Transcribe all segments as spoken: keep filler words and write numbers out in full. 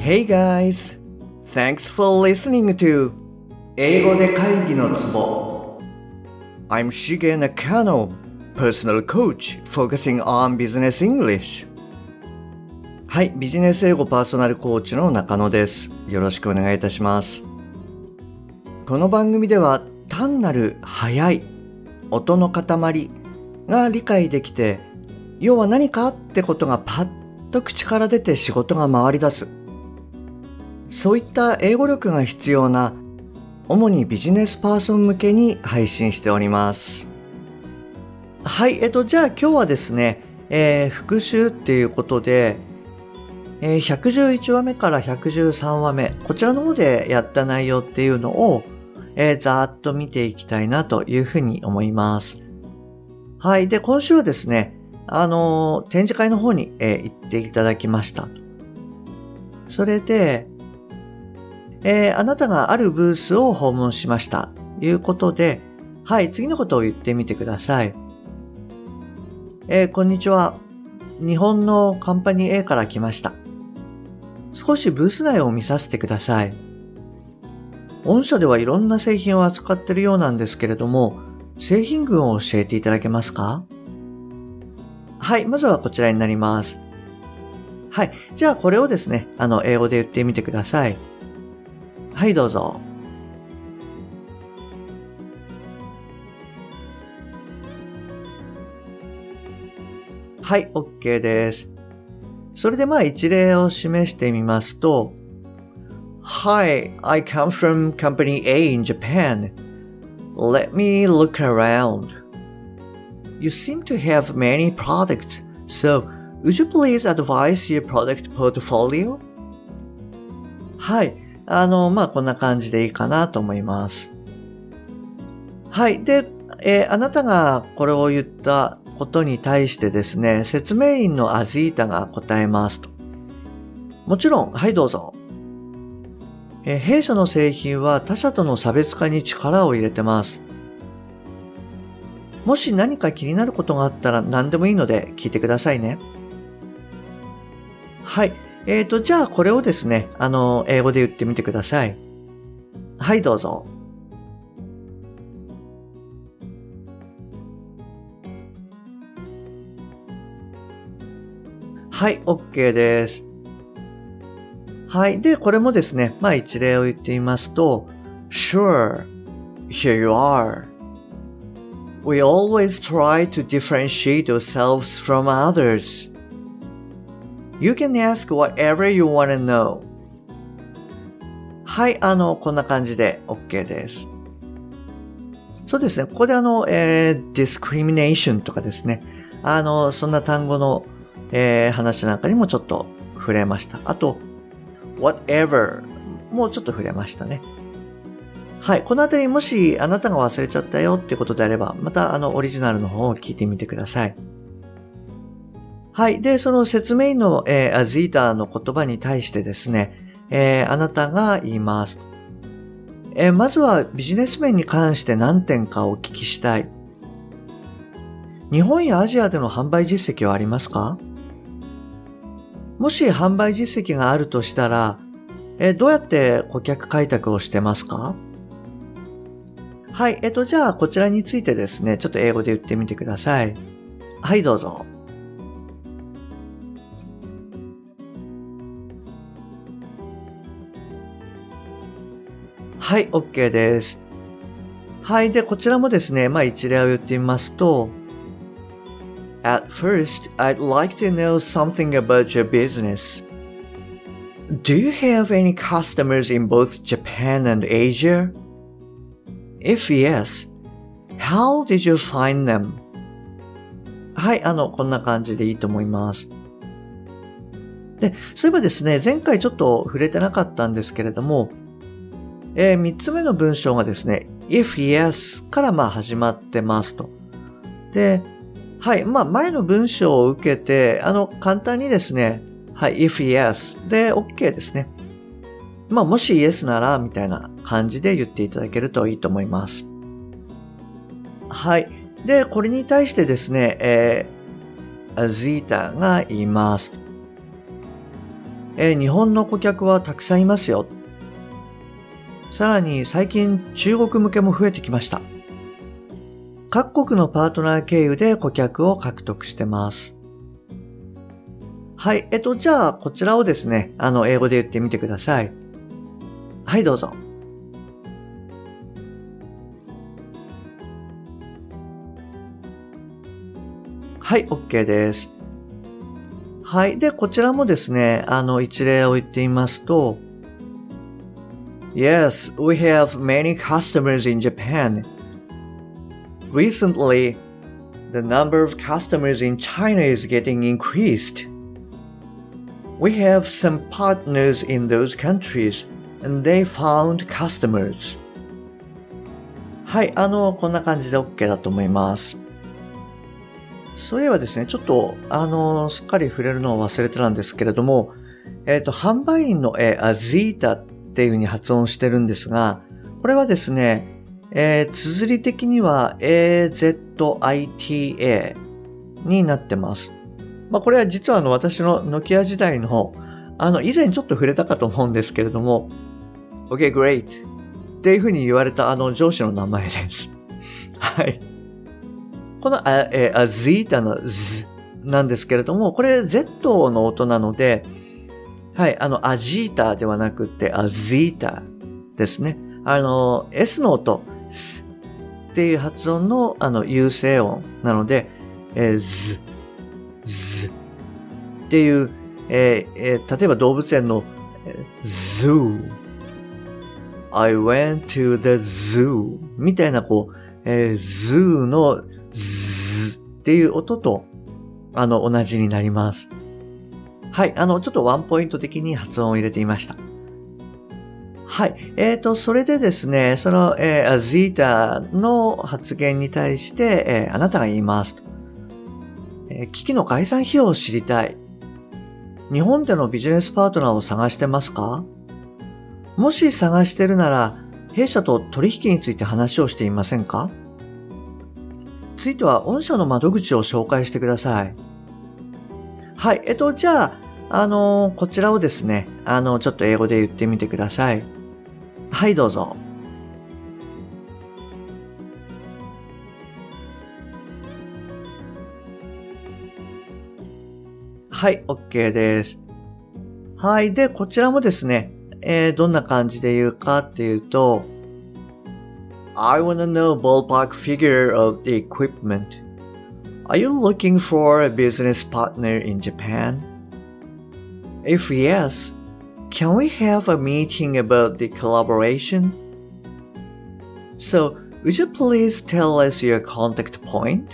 Hey guys! Thanks for listening to 英語で会議のツボ I'm Shige Nakano, personal coach focusing on business English. はい、ビジネス英語パーソナルコーチの中野です。よろしくお願いいたします。この番組では単なる速い音の塊が理解できて、要は何かってことがパッと口から出て仕事が回り出す。そういった英語力が必要な主にビジネスパーソン向けに配信しております。はい、えっとじゃあ今日はですね、えー、復習っていうことで、えー、ひゃくじゅういちわめからひゃくじゅうさんわめ、こちらの方でやった内容っていうのを、えー、ざーっと見ていきたいなというふうに思います。はい、で今週はですね、あのー、展示会の方に、えー、行っていただきました。それでえー、あなたがあるブースを訪問しましたということで、はい、次のことを言ってみてください。えー、こんにちは。日本のカンパニー A から来ました。少しブース内を見させてください。御社ではいろんな製品を扱っているようなんですけれども、製品群を教えていただけますか？はい、まずはこちらになります。はい、じゃあこれをですね、あの、英語で言ってみてください。はい、どうぞ。はい、OK です。それでまあ一例を示してみますと、Hi, I come from Company A in Japan. Let me look around. You seem to have many products, so would you please advise your product portfolio? はい。あの、まあ、こんな感じでいいかなと思います。はい。で、えー、あなたがこれを言ったことに対してですね、説明員のアジータが答えますと。もちろん、はいどうぞ。えー、弊社の製品は他社との差別化に力を入れてます。もし何か気になることがあったら何でもいいので聞いてくださいね。はい。えーと、じゃあこれをですね、あの、英語で言ってみてください。はい、どうぞ。はい、OK です。はい。で、これもですね、まあ一例を言ってみますと、Sure, here you are. We always try to differentiate ourselves from others.You can ask whatever you want to know. はい、あの、こんな感じで OK です。そうですね、ここであの、えー、discrimination とかですね、あの、そんな単語の、えー、話なんかにもちょっと触れました。あと、whatever もちょっと触れましたね。はい、このあたりもしあなたが忘れちゃったよってことであれば、またあの、オリジナルの方を聞いてみてください。はい。で、その説明員の、えー、アジータの言葉に対してですね、えー、あなたが言います、えー。まずはビジネス面に関して何点かお聞きしたい。日本やアジアでの販売実績はありますか？もし販売実績があるとしたら、えー、どうやって顧客開拓をしてますか？はい。えっと、じゃあこちらについてですね、ちょっと英語で言ってみてください。はい、どうぞ。はい、OK です。はい。で、こちらもですね、まあ一例を言ってみますと、At first, I'd like to know something about your business. Do you have any customers in both Japan and Asia? If yes, how did you find them? はい、あの、こんな感じでいいと思います。で、そういえばですね、前回ちょっと触れてなかったんですけれども、えー、三つ目の文章がですね、if yes からまあ始まってますと。で、はい、まあ前の文章を受けて、あの、簡単にですね、はい、if yes で OK ですね。まあもし yes なら、みたいな感じで言っていただけるといいと思います。はい。で、これに対してですね、えー、アジータが言います。 えー、日本の顧客はたくさんいますよ。さらに最近中国向けも増えてきました。各国のパートナー経由で顧客を獲得してます。はい、えっと、じゃあこちらをですね、あの、英語で言ってみてください。はい、どうぞ。はい、OK です。はい。で、こちらもですね、あの、一例を言ってみますと、Yes, we have many customers in Japan. Recently, the number of customers in China is getting increased. We have some partners in those countries, and they found customers. はい、あの、こんな感じで OK だと思います。そういえばですね、ちょっと、あの、すっかり触れるのを忘れてたんですけれども、えっと、販売員の、えー、アゼータっていう風に発音してるんですが、これはですね、えー、綴り的には エーゼットアイティーエー になってます。まあ、これは実はあの、私のノキア時代の、あの、以前ちょっと触れたかと思うんですけれども、OK, great っていう風に言われたあの上司の名前です。はい。このア、えー、アゼータの Z なんですけれども、これ Z の音なので、はい、あの、アジータではなくて、アゼータですね。あの、S の音、S っていう発音の、あの、有声音なので、えー、Z、Z っていう、えーえー、例えば動物園の、Zoo、I went to the zoo みたいな、こう、えー、Zoo のズっていう音と、あの、同じになります。はい、あの、ちょっとワンポイント的に発音を入れてみました。はい、えーと、それでですね、その、えー、アゼータの発言に対して、えー、あなたが言いますと。えー、機器の概算費用を知りたい。日本でのビジネスパートナーを探してますか？もし探してるなら、弊社と取引について話をしていませんか？ついては御社の窓口を紹介してください。はい。えっと、じゃあ、あのー、こちらをですね、あの、ちょっと英語で言ってみてください。はい、どうぞ。はい、OK です。はい。で、こちらもですね、えー、どんな感じで言うかっていうと、I want to know ballpark figure of the equipment. Are you looking for a business partner in Japan? If yes, can we have a meeting about the collaboration? So, would you please tell us your contact point?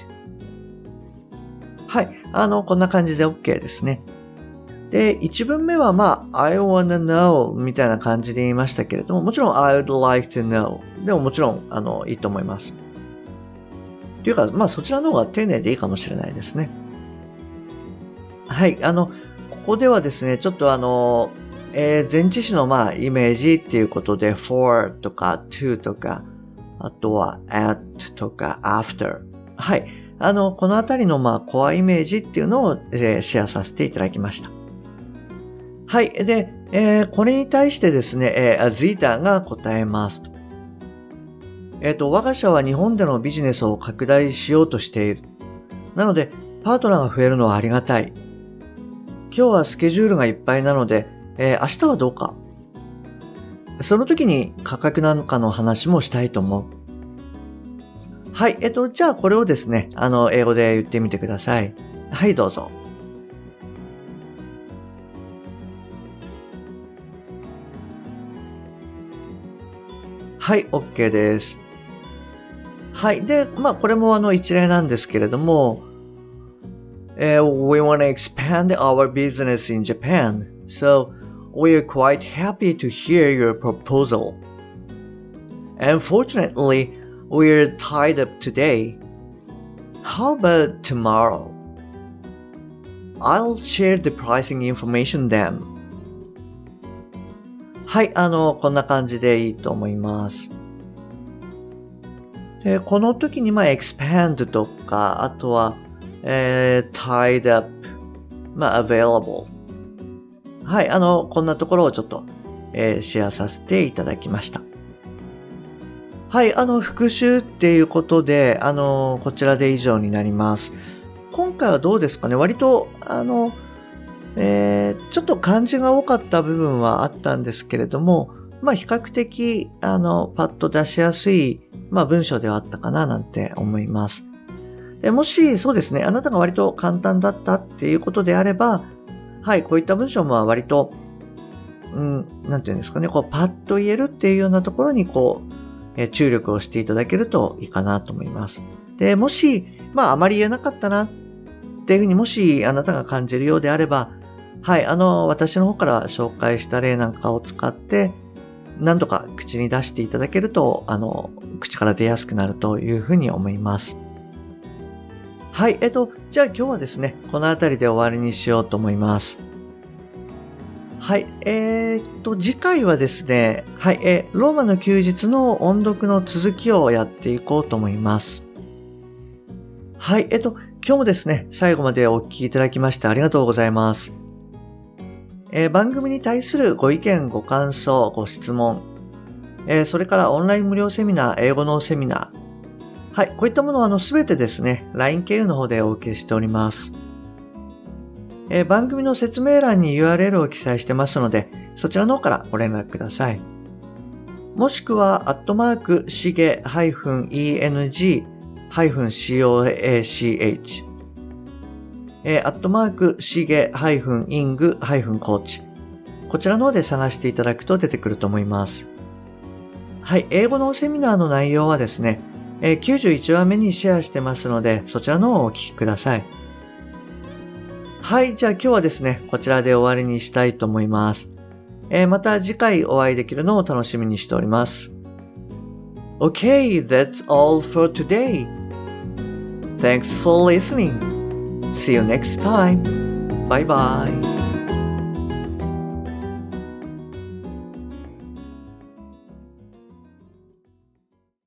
はい。あの、こんな感じで OK ですね。で、一文目はまあ、I wanna know みたいな感じで言いましたけれども、もちろん I would like to know でももちろん、あの、いいと思います。というか、まあそちらの方が丁寧でいいかもしれないですね。はい、あの、ここではですね、ちょっとあの、えー、前置詞のまあイメージっていうことで for とか to とか、あとは at とか after。はい、あの、このあたりのまあコアイメージっていうのを、えー、シェアさせていただきました。はい。で、えー、これに対してですね、えー、アゼータが答えますと。えっと、我が社は日本でのビジネスを拡大しようとしている。なので、パートナーが増えるのはありがたい。今日はスケジュールがいっぱいなので、えー、明日はどうか。その時に価格なんかの話もしたいと思う。はい。えっと、じゃあこれをですね、あの、英語で言ってみてください。はい、どうぞ。はい、OK です。はい。で、まあ、これもあの一例なんですけれども、uh, We want to expand our business in Japan, so we are quite happy to hear your proposal. Unfortunately, we are tied up today. How about tomorrow? I'll share the pricing information then.はい、あの、こんな感じでいいと思います。で、この時に、まあ、expand とか、あとは、えー、tied up、まあ、available。 はい、あの、こんなところをちょっと、えー、シェアさせていただきました。はい、あの、復習っていうことで、あの、こちらで以上になります。今回はどうですかね？割と、あの、えー、ちょっと漢字が多かった部分はあったんですけれども、まあ、比較的、あの、パッと出しやすい、まあ、文章ではあったかななんて思います。でもし、そうですね、あなたが割と簡単だったっていうことであれば、はい、こういった文章も割と、うん、なんていうんですかね、こう、パッと言えるっていうようなところに、こう、えー、注力をしていただけるといいかなと思います。で、もし、まあ、あまり言えなかったなっていうふうにもしあなたが感じるようであれば、はい、あの、私の方から紹介した例なんかを使って、何度か口に出していただけると、あの、口から出やすくなるというふうに思います。はい、えっと、じゃあ今日はですね、このあたりで終わりにしようと思います。はい、えー、っと、次回はですね、はい、えー、ローマの休日の音読の続きをやっていこうと思います。はい、えっと、今日もですね、最後までお聞きいただきましてありがとうございます。えー、番組に対するご意見、ご感想、ご質問、えー、それからオンライン無料セミナー、英語のセミナー、はい、こういったものはあのすべてですね、ライン 経由の方でお受けしております。えー、番組の説明欄に ユーアールエル を記載してますので、そちらの方からご連絡ください。もしくは、アットマーク、しげ -eng-coach、えー、アットマーク、しげ -ing-coach、こちらの方で探していただくと出てくると思います。はい、英語のセミナーの内容はですね、えー、きゅうじゅういちわめにシェアしてますので、そちらの方をお聞きください。はい、じゃあ今日はですね、こちらで終わりにしたいと思います。えー、また次回お会いできるのを楽しみにしております。Okay, that's all for today. Thanks for listening. See you next time. Bye bye.